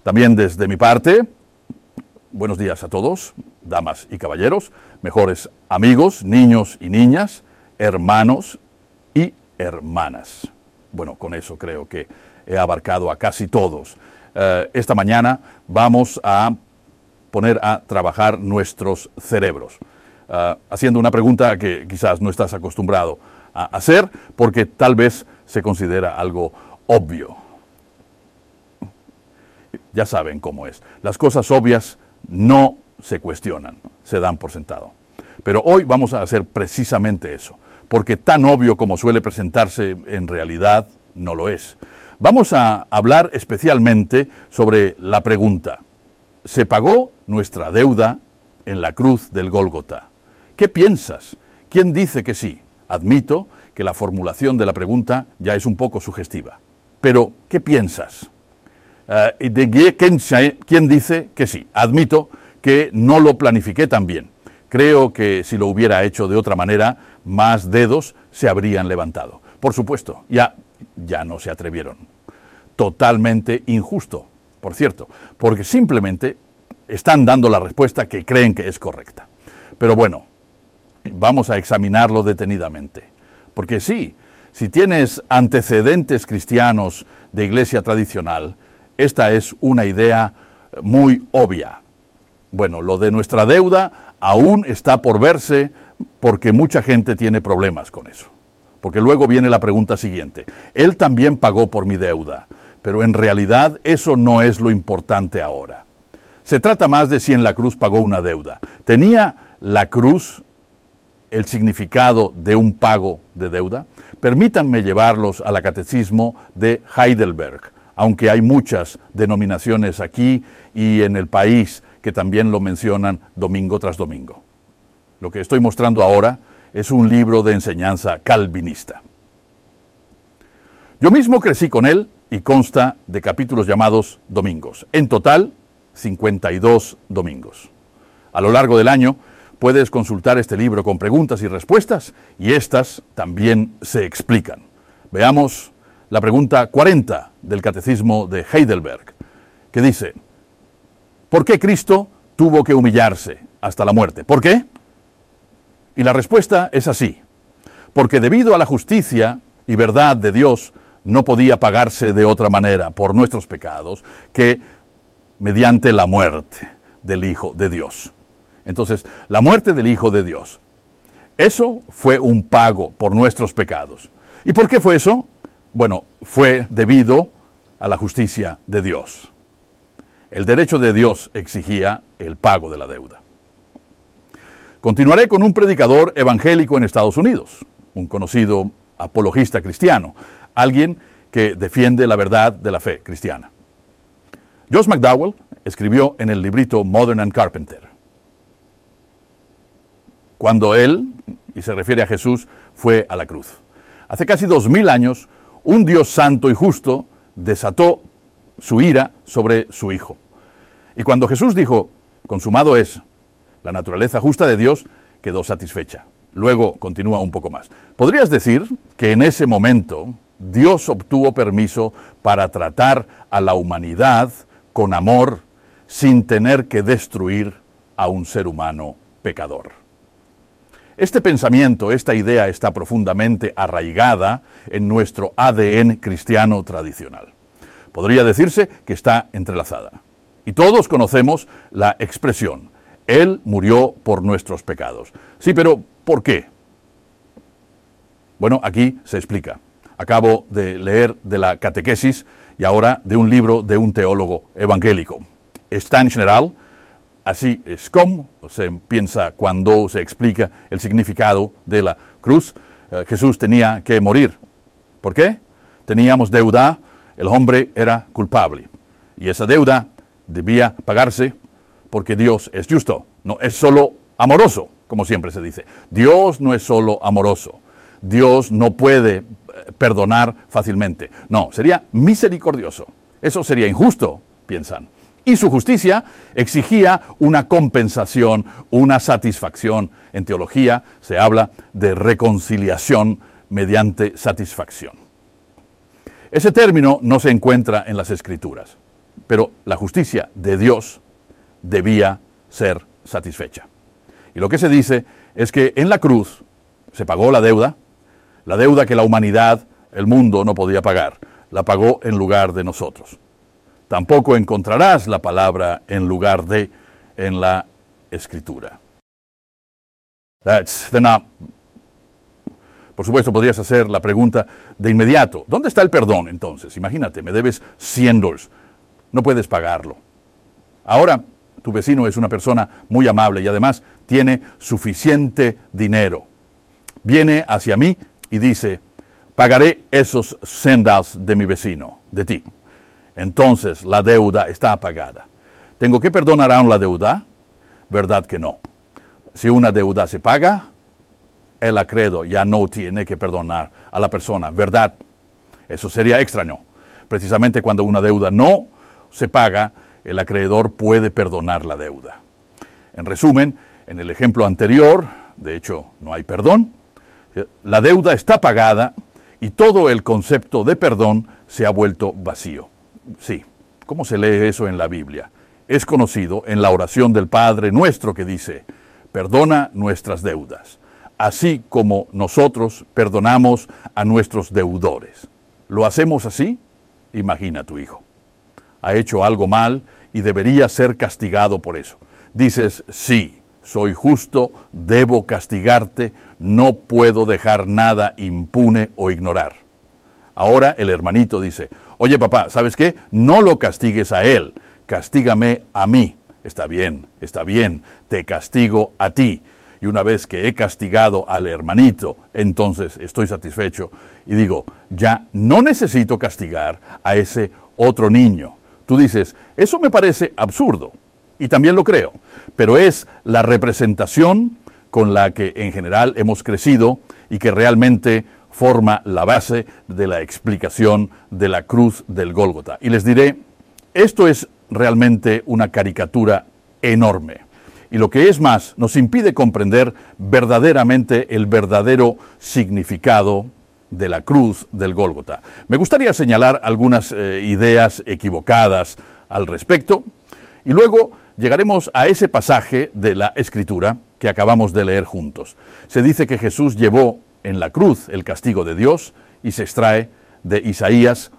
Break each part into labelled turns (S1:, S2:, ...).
S1: También desde mi parte, buenos días a todos, damas y caballeros, mejores amigos, niños y niñas, hermanos y hermanas. Bueno, con eso creo que he abarcado a casi todos. Esta mañana vamos a poner a trabajar nuestros cerebros, haciendo una pregunta que quizás no estás acostumbrado a hacer porque tal vez se considera algo obvio. Ya saben cómo es. Las cosas obvias no se cuestionan, se dan por sentado. Pero hoy vamos a hacer precisamente eso, porque tan obvio como suele presentarse en realidad no lo es. Vamos a hablar especialmente sobre la pregunta: ¿se pagó nuestra deuda en la cruz del Gólgota? ¿Qué piensas? ¿Quién dice que sí? Admito que la formulación de la pregunta ya es un poco sugestiva. Pero, ¿qué piensas? ¿Quién dice que sí? Admito que no lo planifiqué tan bien. Creo que si lo hubiera hecho de otra manera, más dedos se habrían levantado. Por supuesto, ya no se atrevieron. Totalmente injusto, por cierto, porque simplemente están dando la respuesta que creen que es correcta. Pero bueno, vamos a examinarlo detenidamente. Porque sí, si tienes antecedentes cristianos de iglesia tradicional, esta es una idea muy obvia. Bueno, lo de nuestra deuda aún está por verse porque mucha gente tiene problemas con eso. Porque luego viene la pregunta siguiente: Él también pagó por mi deuda, pero en realidad eso no es lo importante ahora. Se trata más de si en la cruz pagó una deuda. ¿Tenía la cruz el significado de un pago de deuda? Permítanme llevarlos al catecismo de Heidelberg, aunque hay muchas denominaciones aquí y en el país que también lo mencionan domingo tras domingo. Lo que estoy mostrando ahora es un libro de enseñanza calvinista. Yo mismo crecí con él y consta de capítulos llamados domingos. En total, 52 domingos. A lo largo del año puedes consultar este libro con preguntas y respuestas, y estas también se explican. Veamos la pregunta 40 del Catecismo de Heidelberg, que dice: ¿por qué Cristo tuvo que humillarse hasta la muerte? ¿Por qué? Y la respuesta es así: porque debido a la justicia y verdad de Dios, no podía pagarse de otra manera por nuestros pecados que mediante la muerte del Hijo de Dios. Entonces, la muerte del Hijo de Dios, eso fue un pago por nuestros pecados. ¿Y por qué fue eso? Bueno, fue debido a la justicia de Dios. El derecho de Dios exigía el pago de la deuda. Continuaré con un predicador evangélico en Estados Unidos, un conocido apologista cristiano, alguien que defiende la verdad de la fe cristiana. Josh McDowell escribió en el librito Modern and Carpenter: cuando él, y se refiere a Jesús, fue a la cruz. Hace casi 2000 años, un Dios santo y justo desató su ira sobre su Hijo. Y cuando Jesús dijo: consumado es, la naturaleza justa de Dios quedó satisfecha. Luego continúa un poco más. ¿Podrías decir que en ese momento Dios obtuvo permiso para tratar a la humanidad con amor sin tener que destruir a un ser humano pecador? Este pensamiento, esta idea está profundamente arraigada en nuestro ADN cristiano tradicional. Podría decirse que está entrelazada. Y todos conocemos la expresión: Él murió por nuestros pecados. Sí, pero ¿por qué? Bueno, aquí se explica. Acabo de leer de la catequesis y ahora de un libro de un teólogo evangélico. Está en general. Así es como se piensa cuando se explica el significado de la cruz. Jesús tenía que morir. ¿Por qué? Teníamos deuda, el hombre era culpable. Y esa deuda debía pagarse porque Dios es justo. No es solo amoroso, como siempre se dice. Dios no es solo amoroso. Dios no puede perdonar fácilmente. No, sería misericordioso. Eso sería injusto, piensan. Y su justicia exigía una compensación, una satisfacción. En teología se habla de reconciliación mediante satisfacción. Ese término no se encuentra en las Escrituras. pero la justicia de Dios debía ser satisfecha. Y lo que se dice es que en la cruz se pagó la deuda que la humanidad, el mundo, no podía pagar. La pagó en lugar de nosotros. Tampoco encontrarás la palabra en lugar de en la Escritura. Por supuesto, podrías hacer la pregunta de inmediato. ¿Dónde está el perdón entonces? Imagínate, me debes $100. No puedes pagarlo. Ahora, tu vecino es una persona muy amable y además tiene suficiente dinero. Viene hacia mí y dice, pagaré esos $100 de mi vecino, de ti. Entonces la deuda está pagada. ¿Tengo que perdonar aún la deuda? ¿Verdad que no? Si una deuda se paga, el acreedor ya no tiene que perdonar a la persona, ¿verdad? Eso sería extraño. Precisamente cuando una deuda no se paga, el acreedor puede perdonar la deuda. En resumen, en el ejemplo anterior, de hecho, no hay perdón. La deuda está pagada y todo el concepto de perdón se ha vuelto vacío. Sí, ¿cómo se lee eso en la Biblia? Es conocido en la oración del Padre Nuestro que dice, perdona nuestras deudas, así como nosotros perdonamos a nuestros deudores. ¿Lo hacemos así? Imagina a tu hijo. Ha hecho algo mal y debería ser castigado por eso. Dices, sí, soy justo, debo castigarte, no puedo dejar nada impune o ignorar. Ahora el hermanito dice, oye papá, ¿sabes qué? No lo castigues a él, castígame a mí. Está bien, te castigo a ti. Y una vez que he castigado al hermanito, entonces estoy satisfecho y digo, ya no necesito castigar a ese otro niño. Tú dices, eso me parece absurdo, y también lo creo, pero es la representación con la que en general hemos crecido y que realmente forma la base de la explicación de la cruz del Gólgota. Y les diré, esto es realmente una caricatura enorme. Y lo que es más, nos impide comprender verdaderamente el verdadero significado de la cruz del Gólgota. Me gustaría señalar algunas ideas equivocadas al respecto y luego llegaremos a ese pasaje de la Escritura que acabamos de leer juntos. Se dice que Jesús llevó en la cruz el castigo de Dios y se extrae de Isaías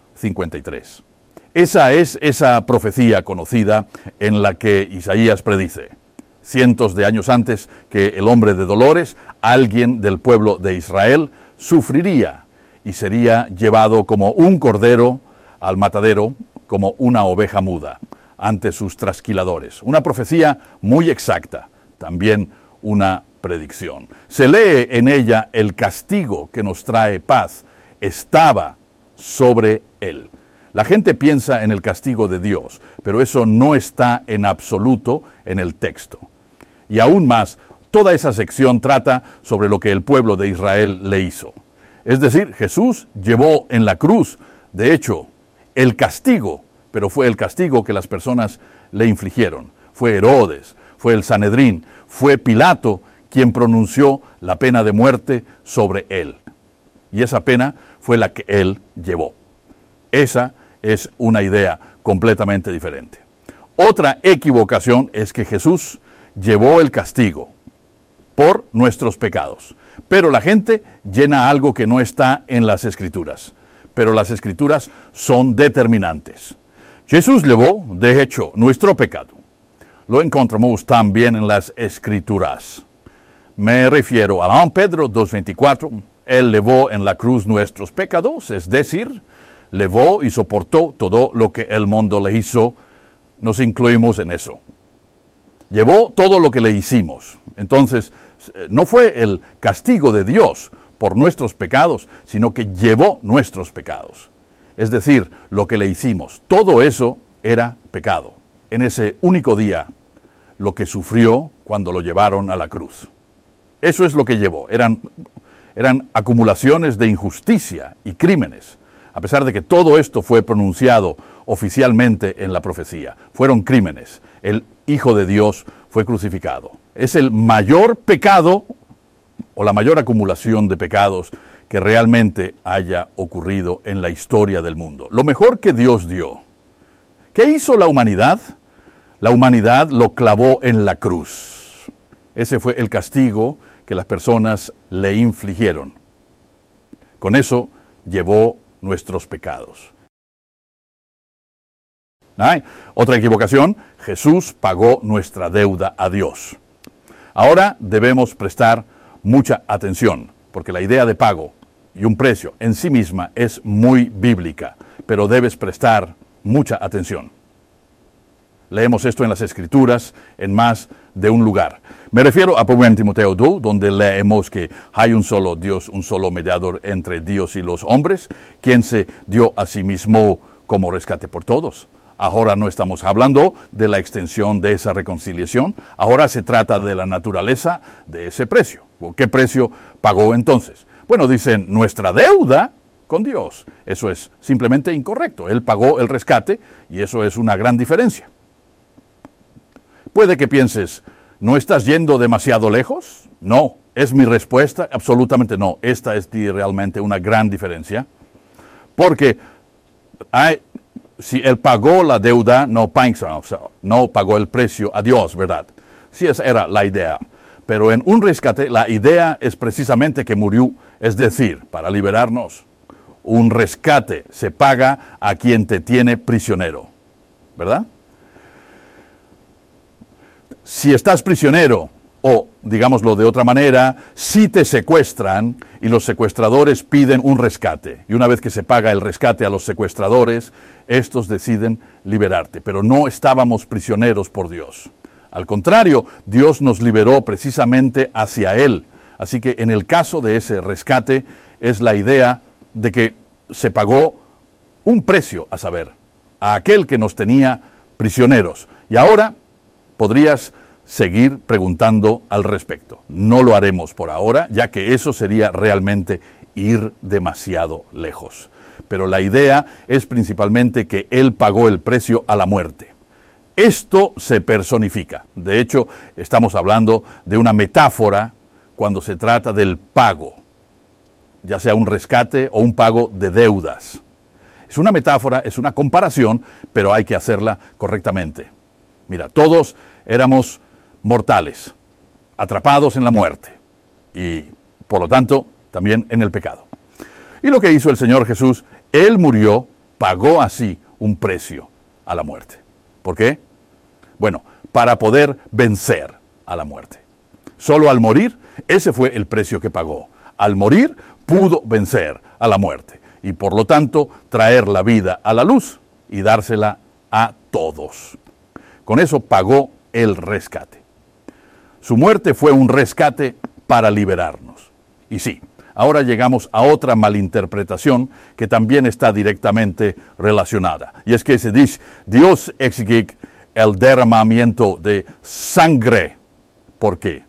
S1: 53. Esa es esa profecía conocida en la que Isaías predice, cientos de años antes, que el hombre de dolores, alguien del pueblo de Israel, sufriría y sería llevado como un cordero al matadero, como una oveja muda, ante sus trasquiladores. Una profecía muy exacta, también una predicción. Se lee en ella el castigo que nos trae paz, estaba sobre él. La gente piensa en el castigo de Dios, pero eso no está en absoluto en el texto. Y aún más, toda esa sección trata sobre lo que el pueblo de Israel le hizo. Es decir, Jesús llevó en la cruz, de hecho, el castigo, pero fue el castigo que las personas le infligieron. Fue Herodes, fue el Sanedrín, fue Pilato quien pronunció la pena de muerte sobre él. Y esa pena fue la que él llevó. Esa es una idea completamente diferente. Otra equivocación es que Jesús llevó el castigo por nuestros pecados. Pero la gente llena algo que no está en las Escrituras. Pero las Escrituras son determinantes. Jesús llevó, de hecho, nuestro pecado. Lo encontramos también en las Escrituras. Me refiero a 1 Pedro 2:24. Él llevó en la cruz nuestros pecados, es decir, llevó y soportó todo lo que el mundo le hizo. Nos incluimos en eso. Llevó todo lo que le hicimos. Entonces, no fue el castigo de Dios por nuestros pecados, sino que llevó nuestros pecados. Es decir, lo que le hicimos. Todo eso era pecado. En ese único día, lo que sufrió cuando lo llevaron a la cruz. Eso es lo que llevó. Eran acumulaciones de injusticia y crímenes. A pesar de que todo esto fue pronunciado oficialmente en la profecía. Fueron crímenes. El Hijo de Dios fue crucificado. Es el mayor pecado o la mayor acumulación de pecados que realmente haya ocurrido en la historia del mundo. Lo mejor que Dios dio. ¿Qué hizo la humanidad? La humanidad lo clavó en la cruz. Ese fue el castigo que las personas le infligieron. Con eso llevó nuestros pecados. Otra equivocación, Jesús pagó nuestra deuda a Dios. Ahora debemos prestar mucha atención, porque la idea de pago y un precio en sí misma es muy bíblica, pero debes prestar mucha atención. Leemos esto en las Escrituras en más de un lugar. Me refiero a 1 Timoteo 2, donde leemos que hay un solo Dios, un solo mediador entre Dios y los hombres, quien se dio a sí mismo como rescate por todos. Ahora no estamos hablando de la extensión de esa reconciliación, ahora se trata de la naturaleza de ese precio. ¿Qué precio pagó entonces? Bueno, dicen nuestra deuda con Dios. Eso es simplemente incorrecto. Él pagó el rescate y eso es una gran diferencia. Puede que pienses, ¿no estás yendo demasiado lejos? No, es mi respuesta, absolutamente no. Esta es realmente una gran diferencia, porque si él pagó la deuda, no pagó el precio a Dios, ¿verdad? Sí, esa era la idea. Pero en un rescate, la idea es precisamente que murió, es decir, para liberarnos. Un rescate se paga a quien te tiene prisionero, ¿verdad? Si estás prisionero, o digámoslo de otra manera, si te secuestran y los secuestradores piden un rescate, y una vez que se paga el rescate a los secuestradores, estos deciden liberarte. Pero no estábamos prisioneros por Dios. Al contrario, Dios nos liberó precisamente hacia Él. Así que en el caso de ese rescate es la idea de que se pagó un precio, a saber, a aquel que nos tenía prisioneros. Y ahora podrías seguir preguntando al respecto. No lo haremos por ahora, ya que eso sería realmente ir demasiado lejos. Pero la idea es principalmente que Él pagó el precio a la muerte. Esto se personifica. De hecho, estamos hablando de una metáfora cuando se trata del pago, ya sea un rescate o un pago de deudas. Es una metáfora, es una comparación, pero hay que hacerla correctamente. Mira, todos éramos mortales, atrapados en la muerte y, por lo tanto, también en el pecado. Y lo que hizo el Señor Jesús, Él murió, pagó así un precio a la muerte. ¿Por qué? Bueno, para poder vencer a la muerte. Solo al morir, ese fue el precio que pagó. Al morir, pudo vencer a la muerte y, por lo tanto, traer la vida a la luz y dársela a todos. Con eso pagó el rescate. Su muerte fue un rescate para liberarnos. Y sí, ahora llegamos a otra malinterpretación que también está directamente relacionada. Y es que se dice, Dios exigió el derramamiento de sangre. ¿Por qué?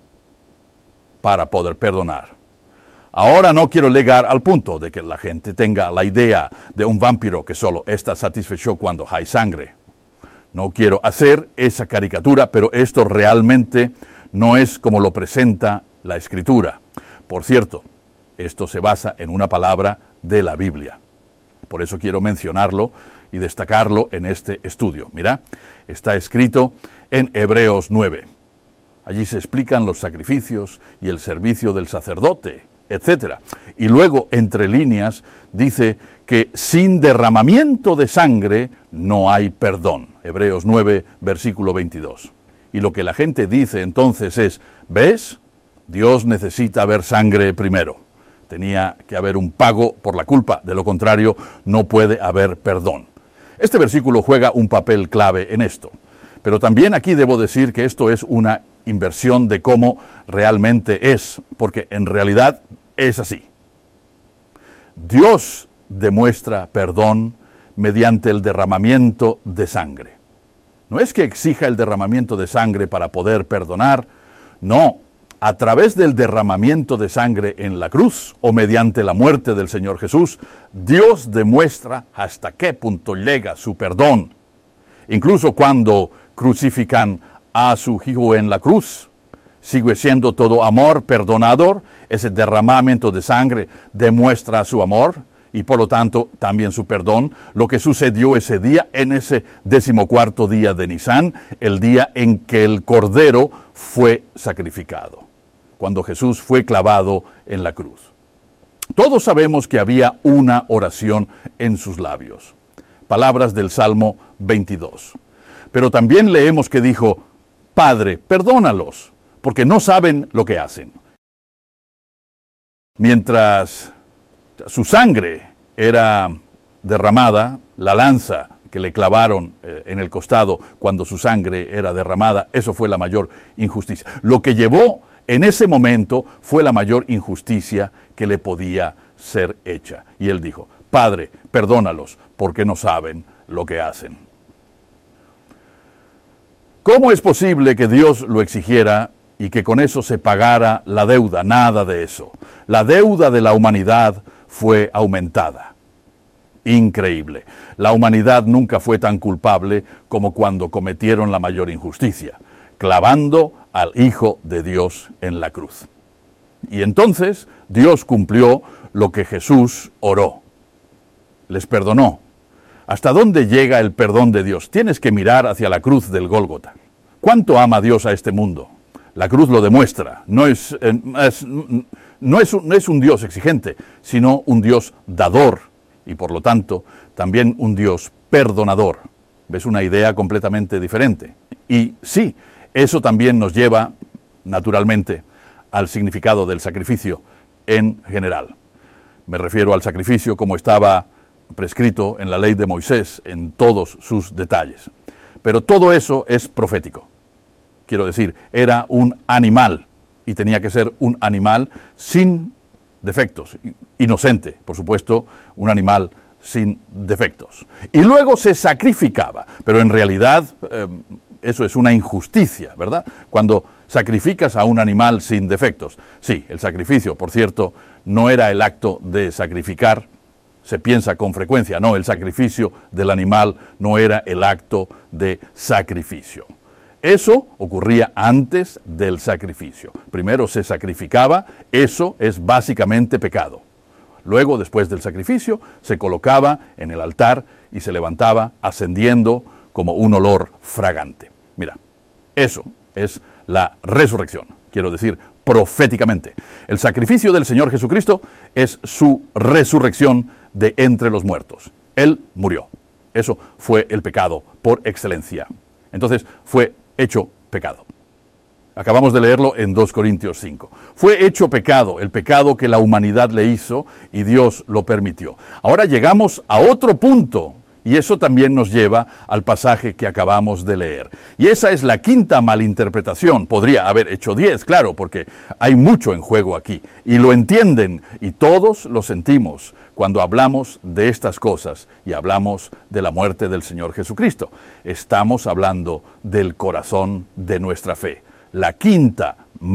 S1: Para poder perdonar. Ahora no quiero llegar al punto de que la gente tenga la idea de un vampiro que solo está satisfecho cuando hay sangre. No quiero hacer esa caricatura, pero esto realmente no es como lo presenta la Escritura. Por cierto, esto se basa en una palabra de la Biblia. Por eso quiero mencionarlo y destacarlo en este estudio. Mira, está escrito en Hebreos 9. Allí se explican los sacrificios y el servicio del sacerdote, etc. Y luego, entre líneas, dice que sin derramamiento de sangre no hay perdón. Hebreos 9, versículo 22. Y lo que la gente dice entonces es, ¿ves? Dios necesita ver sangre primero. Tenía que haber un pago por la culpa, de lo contrario no puede haber perdón. Este versículo juega un papel clave en esto. Pero también aquí debo decir que esto es una inversión de cómo realmente es, porque en realidad es así. Dios demuestra perdón mediante el derramamiento de sangre. No es que exija el derramamiento de sangre para poder perdonar, no. A través del derramamiento de sangre en la cruz o mediante la muerte del Señor Jesús, Dios demuestra hasta qué punto llega su perdón. Incluso cuando crucifican a su Hijo en la cruz, sigue siendo todo amor perdonador. Ese derramamiento de sangre demuestra su amor y por lo tanto también su perdón, lo que sucedió ese día, en ese 14º día de Nisán, el día en que el Cordero fue sacrificado, cuando Jesús fue clavado en la cruz. Todos sabemos que había una oración en sus labios, palabras del Salmo 22. Pero también leemos que dijo, Padre, perdónalos, porque no saben lo que hacen. Mientras su sangre era derramada, la lanza que le clavaron en el costado cuando su sangre era derramada, eso fue la mayor injusticia. Lo que llevó en ese momento fue la mayor injusticia que le podía ser hecha. Y él dijo, Padre, perdónalos, porque no saben lo que hacen. ¿Cómo es posible que Dios lo exigiera y que con eso se pagara la deuda? Nada de eso. La deuda de la humanidad fue aumentada. Increíble. La humanidad nunca fue tan culpable como cuando cometieron la mayor injusticia, clavando al Hijo de Dios en la cruz. Y entonces Dios cumplió lo que Jesús oró. Les perdonó. ¿Hasta dónde llega el perdón de Dios? Tienes que mirar hacia la cruz del Gólgota. ¿Cuánto ama Dios a este mundo? La cruz lo demuestra. No es un Dios exigente, sino un Dios dador y por lo tanto también un Dios perdonador. ¿Ves? Una idea completamente diferente. Y sí, eso también nos lleva, naturalmente, al significado del sacrificio en general. Me refiero al sacrificio como estaba prescrito en la ley de Moisés en todos sus detalles. Pero todo eso es profético. Quiero decir, era un animal y tenía que ser un animal sin defectos, inocente, por supuesto, un animal sin defectos. Y luego se sacrificaba, pero en realidad eso es una injusticia, ¿verdad? Cuando sacrificas a un animal sin defectos. Sí, el sacrificio, por cierto, no era el acto de sacrificar, se piensa con frecuencia, no, el sacrificio del animal no era el acto de sacrificio. Eso ocurría antes del sacrificio. Primero se sacrificaba, eso es básicamente pecado. Luego, después del sacrificio, se colocaba en el altar y se levantaba ascendiendo como un olor fragante. Mira, eso es la resurrección, quiero decir, proféticamente. El sacrificio del Señor Jesucristo es su resurrección de entre los muertos. Él murió. Eso fue el pecado por excelencia. Entonces, fue hecho pecado. Acabamos de leerlo en 2 Corintios 5. Fue hecho pecado, el pecado que la humanidad le hizo y Dios lo permitió. Ahora llegamos a otro punto y eso también nos lleva al pasaje que acabamos de leer. Y esa es la quinta malinterpretación. Podría haber hecho 10, claro, porque hay mucho en juego aquí. Y lo entienden y todos lo sentimos cuando hablamos de estas cosas y hablamos de la muerte del Señor Jesucristo. Estamos hablando del corazón de nuestra fe. La quinta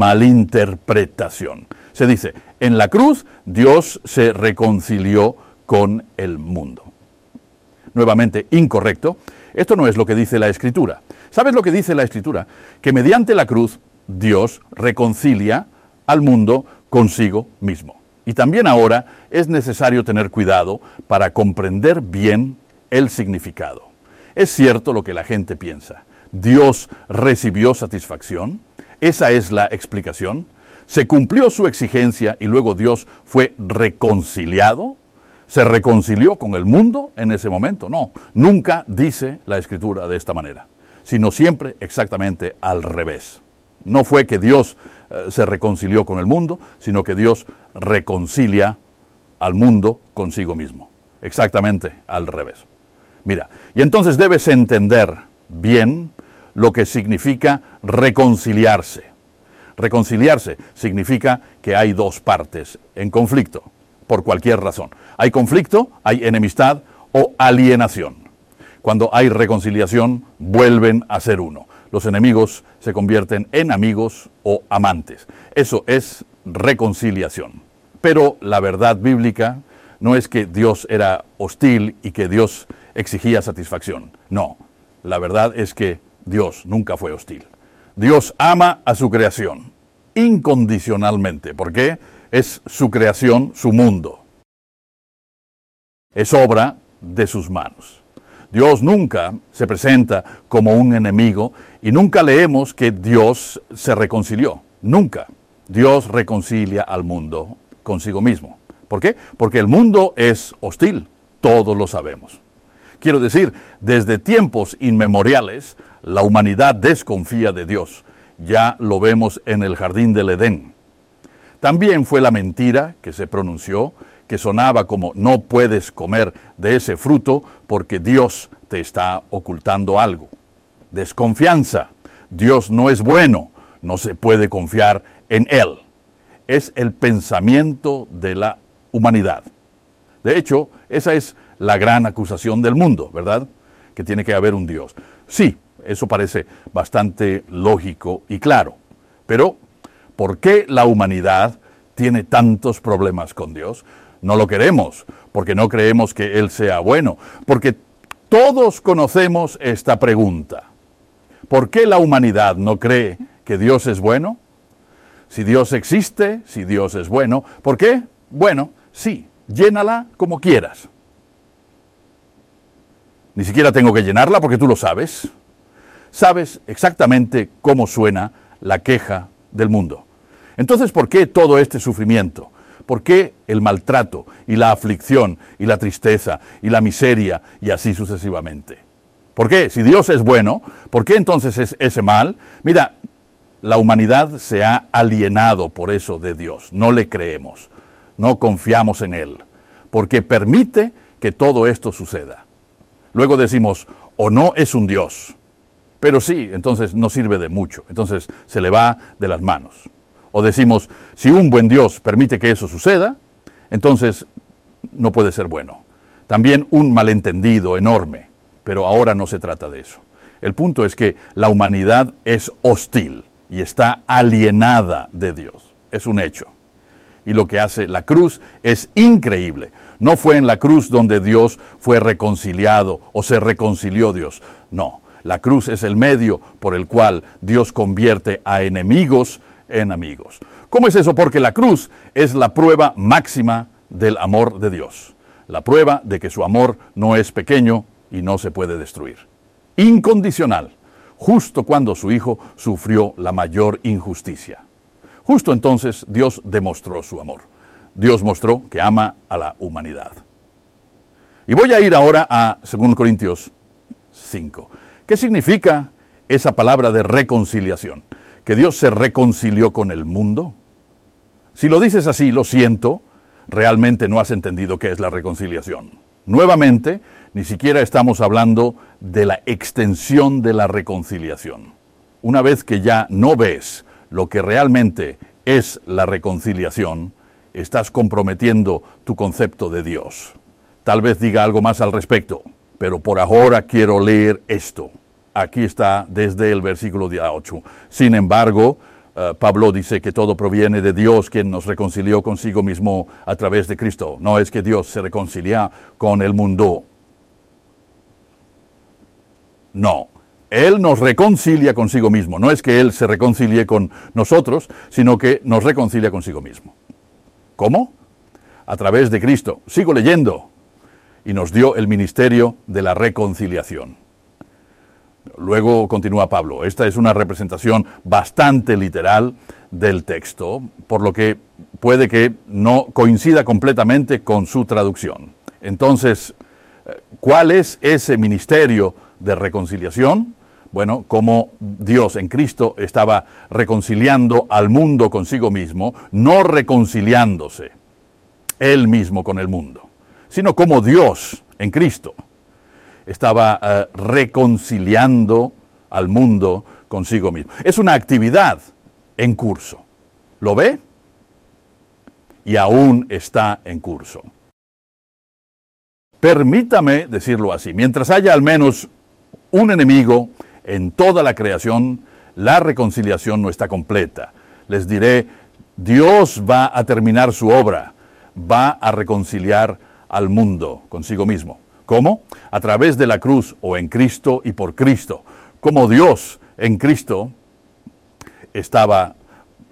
S1: malinterpretación. Se dice, en la cruz Dios se reconcilió con el mundo. Nuevamente, incorrecto. Esto no es lo que dice la Escritura. ¿Sabes lo que dice la Escritura? Que mediante la cruz Dios reconcilia al mundo consigo mismo. Y también ahora es necesario tener cuidado para comprender bien el significado. Es cierto lo que la gente piensa. Dios recibió satisfacción. Esa es la explicación. Se cumplió su exigencia y luego Dios fue reconciliado. ¿Se reconcilió con el mundo en ese momento? No, nunca dice la Escritura de esta manera, sino siempre exactamente al revés. No fue que Dios se reconcilió con el mundo, sino que Dios reconcilia al mundo consigo mismo. Exactamente al revés. Mira, y entonces debes entender bien lo que significa reconciliarse. Reconciliarse significa que hay dos partes en conflicto, por cualquier razón. Hay conflicto, hay enemistad o alienación. Cuando hay reconciliación, vuelven a ser uno. Los enemigos se convierten en amigos o amantes. Eso es reconciliación. Pero la verdad bíblica no es que Dios era hostil y que Dios exigía satisfacción. No, la verdad es que Dios nunca fue hostil. Dios ama a su creación incondicionalmente. ¿Por qué? Es su creación, su mundo. es obra de sus manos. Dios nunca se presenta como un enemigo y nunca leemos que Dios se reconcilió. Nunca. Dios reconcilia al mundo consigo mismo. ¿Por qué? Porque el mundo es hostil. Todos lo sabemos. Quiero decir, desde tiempos inmemoriales, la humanidad desconfía de Dios. Ya lo vemos en el jardín del Edén. También fue la mentira que se pronunció, que sonaba como no puedes comer de ese fruto porque Dios te está ocultando algo. Desconfianza. Dios no es bueno, no se puede confiar en Él. Es el pensamiento de la humanidad. De hecho, esa es la gran acusación del mundo, ¿verdad? Que tiene que haber un Dios. Sí, eso parece bastante lógico y claro. Pero, ¿por qué la humanidad tiene tantos problemas con Dios? No lo queremos, porque no creemos que Él sea bueno, porque todos conocemos esta pregunta. ¿Por qué la humanidad no cree que Dios es bueno? Si Dios existe, si Dios es bueno, ¿por qué? Bueno, sí, llénala como quieras. Ni siquiera tengo que llenarla porque tú lo sabes. Sabes exactamente cómo suena la queja del mundo. Entonces, ¿por qué todo este sufrimiento? ¿Por qué el maltrato y la aflicción y la tristeza y la miseria y así sucesivamente? ¿Por qué? Si Dios es bueno, ¿por qué entonces es ese mal? Mira, la humanidad se ha alienado por eso de Dios. No le creemos, no confiamos en Él, porque permite que todo esto suceda. Luego decimos, o no es un Dios, pero sí, entonces no sirve de mucho, entonces se le va de las manos. O decimos, si un buen Dios permite que eso suceda, entonces no puede ser bueno. También un malentendido enorme, pero ahora no se trata de eso. El punto es que la humanidad es hostil y está alienada de Dios. Es un hecho. Y lo que hace la cruz es increíble. No fue en la cruz donde Dios fue reconciliado o se reconcilió Dios. No, la cruz es el medio por el cual Dios convierte a enemigos en amigos. ¿Cómo es eso? Porque la cruz es la prueba máxima del amor de Dios. La prueba de que su amor no es pequeño y no se puede destruir. Incondicional, justo cuando su Hijo sufrió la mayor injusticia. Justo entonces Dios demostró su amor. Dios mostró que ama a la humanidad. Y voy a ir ahora a 2 Corintios 5. ¿Qué significa esa palabra de reconciliación? ¿Que Dios se reconcilió con el mundo? Si lo dices así, lo siento, realmente no has entendido qué es la reconciliación. Nuevamente, ni siquiera estamos hablando de la extensión de la reconciliación. Una vez que ya no ves lo que realmente es la reconciliación, estás comprometiendo tu concepto de Dios. Tal vez diga algo más al respecto, pero por ahora quiero leer esto. Aquí está desde el versículo 8. Sin embargo, Pablo dice que todo proviene de Dios, quien nos reconcilió consigo mismo a través de Cristo. No es que Dios se reconcilia con el mundo. No, Él nos reconcilia consigo mismo. No es que Él se reconcilie con nosotros, sino que nos reconcilia consigo mismo. ¿Cómo? A través de Cristo. Sigo leyendo. Y nos dio el ministerio de la reconciliación. Luego continúa Pablo. Esta es una representación bastante literal del texto, por lo que puede que no coincida completamente con su traducción. Entonces, ¿cuál es ese ministerio de reconciliación? Bueno, como Dios en Cristo estaba reconciliando al mundo consigo mismo, no reconciliándose Él mismo con el mundo, sino como Dios en Cristo estaba reconciliando al mundo consigo mismo. Es una actividad en curso. ¿Lo ve? Y aún está en curso. Permítame decirlo así, mientras haya al menos un enemigo en toda la creación, la reconciliación no está completa. Les diré, Dios va a terminar su obra, va a reconciliar al mundo consigo mismo. ¿Cómo? A través de la cruz o en Cristo y por Cristo. Como Dios en Cristo estaba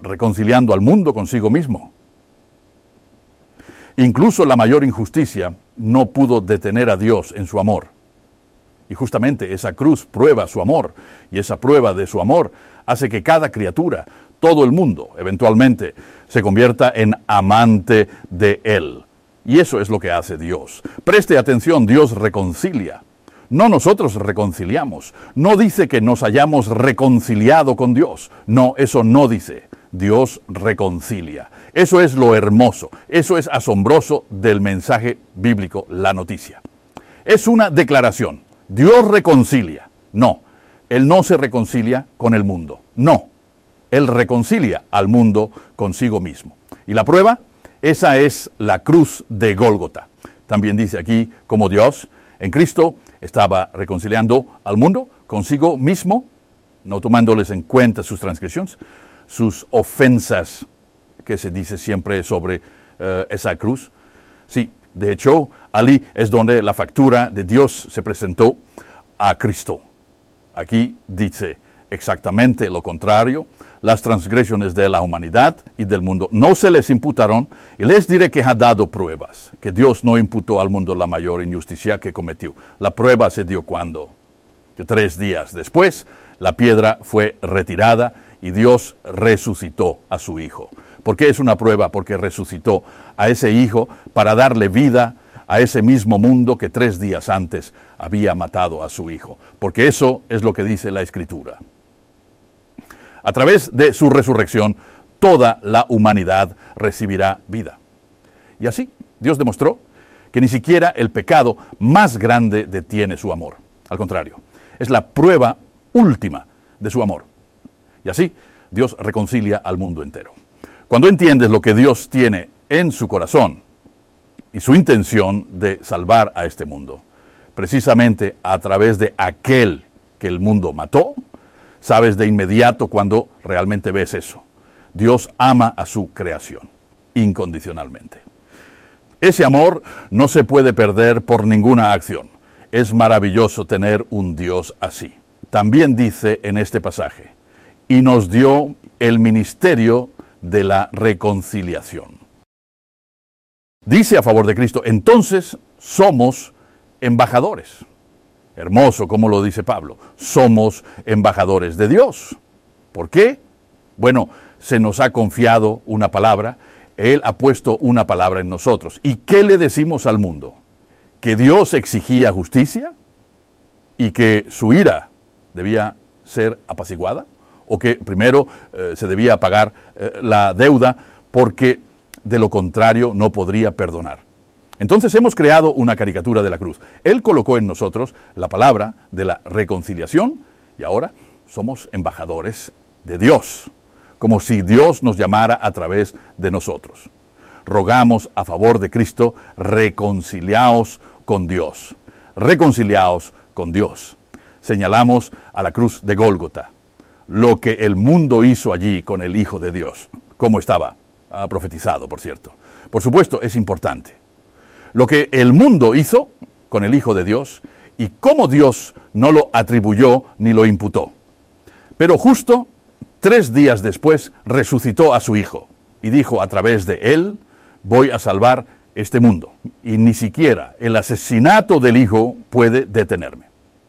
S1: reconciliando al mundo consigo mismo. Incluso la mayor injusticia no pudo detener a Dios en su amor. Y justamente esa cruz prueba su amor, y esa prueba de su amor hace que cada criatura, todo el mundo, eventualmente, se convierta en amante de Él. Y eso es lo que hace Dios. Preste atención, Dios reconcilia. No nosotros reconciliamos. No dice que nos hayamos reconciliado con Dios. No, eso no dice. Dios reconcilia. Eso es lo hermoso, eso es asombroso del mensaje bíblico, la noticia. Es una declaración. Dios reconcilia. No, Él no se reconcilia con el mundo. No, Él reconcilia al mundo consigo mismo. ¿Y la prueba? Esa es la cruz de Gólgota. También dice aquí como Dios en Cristo estaba reconciliando al mundo consigo mismo, no tomándoles en cuenta sus transgresiones, sus ofensas, que se dice siempre sobre esa cruz. Sí, de hecho, allí es donde la factura de Dios se presentó a Cristo. Aquí dice exactamente lo contrario. Las transgresiones de la humanidad y del mundo no se les imputaron, y les diré que ha dado pruebas, que Dios no imputó al mundo la mayor injusticia que cometió. La prueba se dio cuando, que 3 días después, la piedra fue retirada y Dios resucitó a su Hijo. ¿Por qué es una prueba? Porque resucitó a ese Hijo para darle vida a ese mismo mundo que 3 días antes había matado a su Hijo. Porque eso es lo que dice la Escritura. A través de su resurrección, toda la humanidad recibirá vida. Y así, Dios demostró que ni siquiera el pecado más grande detiene su amor. Al contrario, es la prueba última de su amor. Y así, Dios reconcilia al mundo entero. Cuando entiendes lo que Dios tiene en su corazón y su intención de salvar a este mundo, precisamente a través de aquel que el mundo mató, sabes de inmediato cuando realmente ves eso. Dios ama a su creación, incondicionalmente. Ese amor no se puede perder por ninguna acción. Es maravilloso tener un Dios así. También dice en este pasaje, y nos dio el ministerio de la reconciliación. Dice a favor de Cristo, entonces somos embajadores. Hermoso como lo dice Pablo, somos embajadores de Dios. ¿Por qué? Bueno, se nos ha confiado una palabra, Él ha puesto una palabra en nosotros. ¿Y qué le decimos al mundo? ¿Que Dios exigía justicia y que su ira debía ser apaciguada? ¿O que primero se debía pagar la deuda porque de lo contrario no podría perdonar? Entonces hemos creado una caricatura de la cruz. Él colocó en nosotros la palabra de la reconciliación y ahora somos embajadores de Dios, como si Dios nos llamara a través de nosotros. Rogamos a favor de Cristo, reconciliaos con Dios. Reconciliaos con Dios. Señalamos a la cruz de Gólgota, lo que el mundo hizo allí con el Hijo de Dios, como estaba profetizado, por cierto. Por supuesto, es importante. Lo que el mundo hizo con el Hijo de Dios y cómo Dios no lo atribuyó ni lo imputó. Pero justo 3 días después resucitó a su Hijo y dijo a través de él, voy a salvar este mundo. Y ni siquiera el asesinato del Hijo puede detenerme.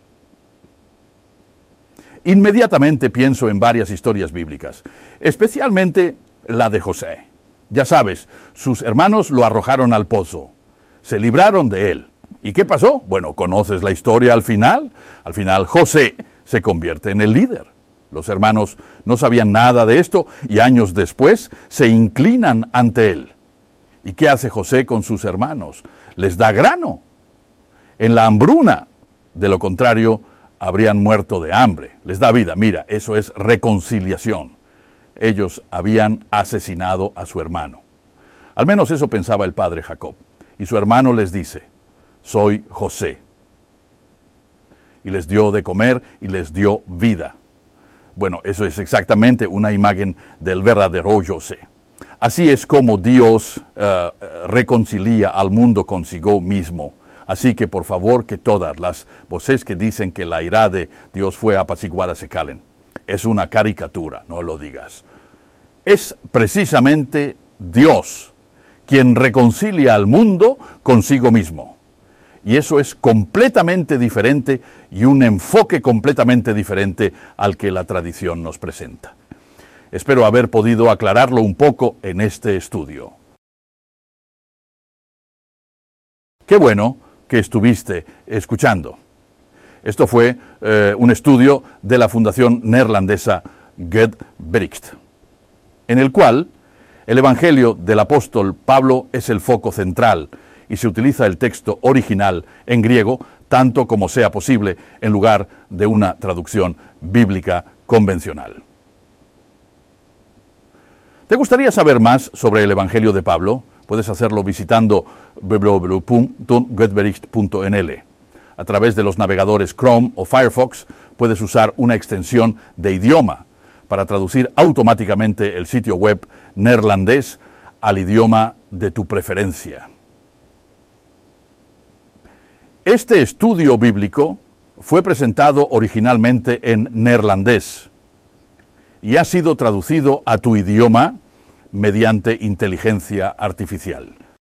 S1: Inmediatamente pienso en varias historias bíblicas, especialmente la de José. Ya sabes, sus hermanos lo arrojaron al pozo. Se libraron de él. ¿Y qué pasó? Bueno, ¿conoces la historia al final? Al final José se convierte en el líder. Los hermanos no sabían nada de esto y años después se inclinan ante él. ¿Y qué hace José con sus hermanos? Les da grano en la hambruna. De lo contrario, habrían muerto de hambre. Les da vida. Mira, eso es reconciliación. Ellos habían asesinado a su hermano. Al menos eso pensaba el padre Jacob. Y su hermano les dice, soy José. Y les dio de comer y les dio vida. Bueno, eso es exactamente una imagen del verdadero José. Así es como Dios reconcilia al mundo consigo mismo. Así que por favor que todas las voces que dicen que la ira de Dios fue apaciguada se calen. Es una caricatura, no lo digas. Es precisamente Dios quien reconcilia al mundo consigo mismo. Y eso es completamente diferente y un enfoque completamente diferente al que la tradición nos presenta. Espero haber podido aclararlo un poco en este estudio. Qué bueno que estuviste escuchando. Esto fue un estudio de la fundación neerlandesa Get-Bericht, en el cual el Evangelio del apóstol Pablo es el foco central y se utiliza el texto original en griego tanto como sea posible en lugar de una traducción bíblica convencional. ¿Te gustaría saber más sobre el Evangelio de Pablo? Puedes hacerlo visitando www.getbericht.nl. A través de los navegadores Chrome o Firefox puedes usar una extensión de idioma para traducir automáticamente el sitio web neerlandés al idioma de tu preferencia. Este estudio bíblico fue presentado originalmente en neerlandés y ha sido traducido a tu idioma mediante inteligencia artificial.